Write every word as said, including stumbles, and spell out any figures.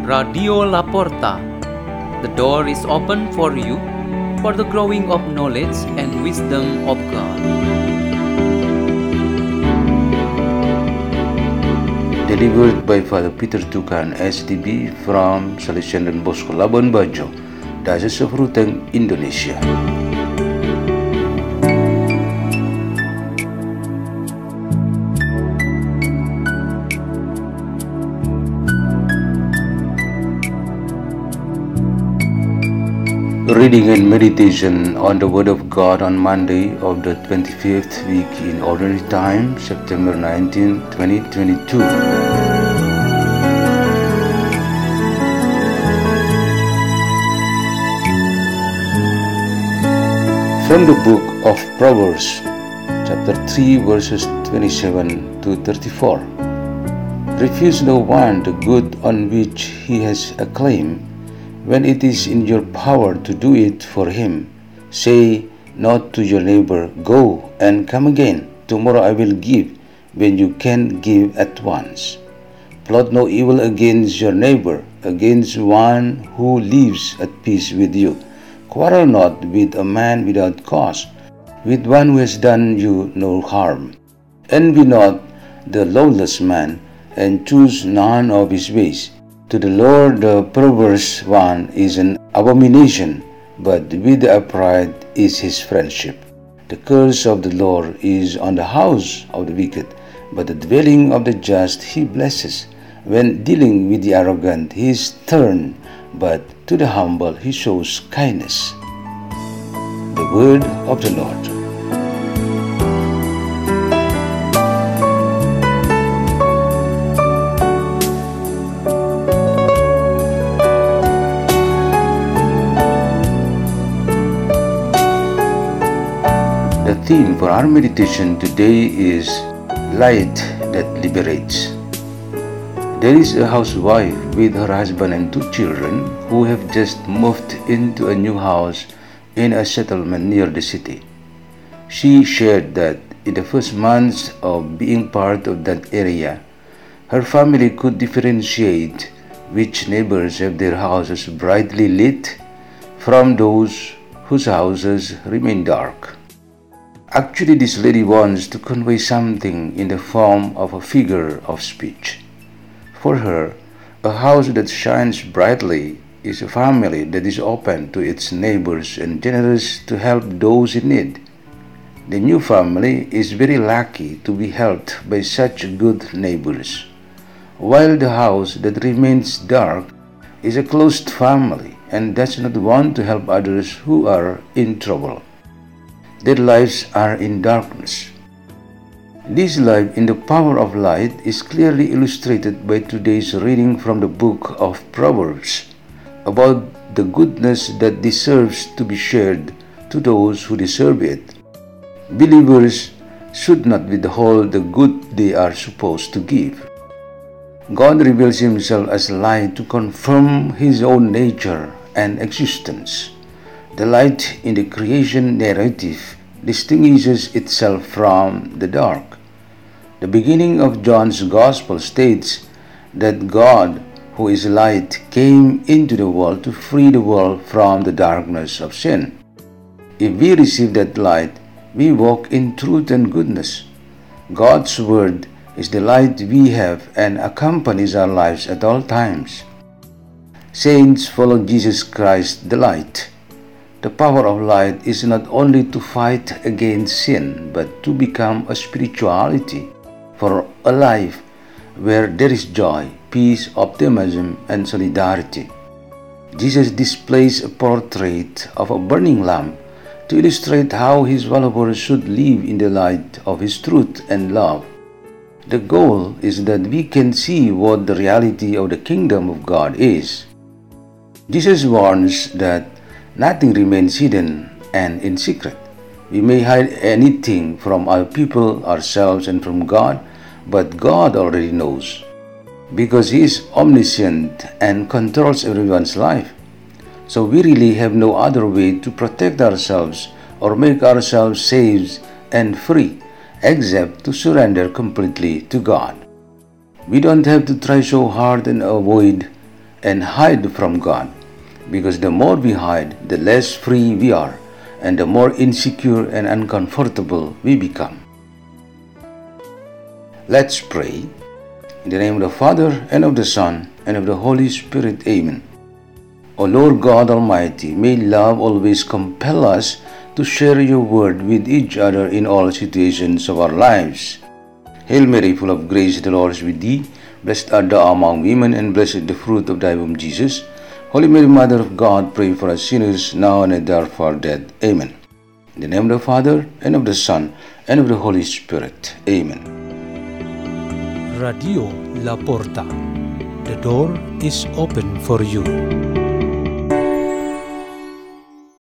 Radio Laporta. The door is open for you for the growing of knowledge and wisdom of God. Delivered by Father Peter Tukan, S D B from Salesian Don Bosco Labuan Bajo, Diocese of Ruteng, Indonesia. Reading and meditation on the Word of God on Monday of the twenty-fifth week in Ordinary Time, September nineteenth, twenty twenty-two. From the book of Proverbs, chapter three, verses twenty-seven to thirty-four. Refuse no one the good on which he has a claim, when it is in your power to do it for him. Say not to your neighbor, go and come again, tomorrow I will give, when you can give at once. Plot no evil against your neighbor, against one who lives at peace with you. Quarrel not with a man without cause, with one who has done you no harm. Envy not the lawless man, and choose none of his ways. To the Lord the perverse one is an abomination, but with the upright is his friendship. The curse of the Lord is on the house of the wicked, but the dwelling of the just he blesses. When dealing with the arrogant he is stern, but to the humble he shows kindness. The word of the Lord. The theme for our meditation today is Light that Liberates. There is a housewife with her husband and two children who have just moved into a new house in a settlement near the city. She shared that in the first months of being part of that area, her family could differentiate which neighbors have their houses brightly lit from those whose houses remain dark. Actually, this lady wants to convey something in the form of a figure of speech. For her, a house that shines brightly is a family that is open to its neighbors and generous to help those in need. The new family is very lucky to be helped by such good neighbors, while the house that remains dark is a closed family and does not want to help others who are in trouble. Their lives are in darkness. This life in the power of light is clearly illustrated by today's reading from the book of Proverbs about the goodness that deserves to be shared to those who deserve it. Believers should not withhold the good they are supposed to give. God reveals himself as light to confirm his own nature and existence. The light in the creation narrative distinguishes itself from the dark. The beginning of John's Gospel states that God, who is light, came into the world to free the world from the darkness of sin. If we receive that light, we walk in truth and goodness. God's Word is the light we have and accompanies our lives at all times. Saints follow Jesus Christ, the light. The power of light is not only to fight against sin, but to become a spirituality for a life where there is joy, peace, optimism, and solidarity. Jesus displays a portrait of a burning lamp to illustrate how his followers should live in the light of his truth and love. The goal is that we can see what the reality of the kingdom of God is. Jesus warns that nothing remains hidden and in secret. We may hide anything from other people, ourselves, and from God, but God already knows, because he is omniscient and controls everyone's life. So we really have no other way to protect ourselves or make ourselves safe and free except to surrender completely to God. We don't have to try so hard and avoid and hide from God, because the more we hide, the less free we are, and the more insecure and uncomfortable we become. Let's pray. In the name of the Father, and of the Son, and of the Holy Spirit. Amen. O Lord God Almighty, may love always compel us to share your word with each other in all situations of our lives. Hail Mary, full of grace, the Lord is with thee. Blessed art thou among women, and blessed the fruit of thy womb, Jesus. Holy Mary, Mother of God, pray for us sinners, now and at the hour of our death. Amen. In the name of the Father, and of the Son, and of the Holy Spirit. Amen. Radio La Porta. The door is open for you.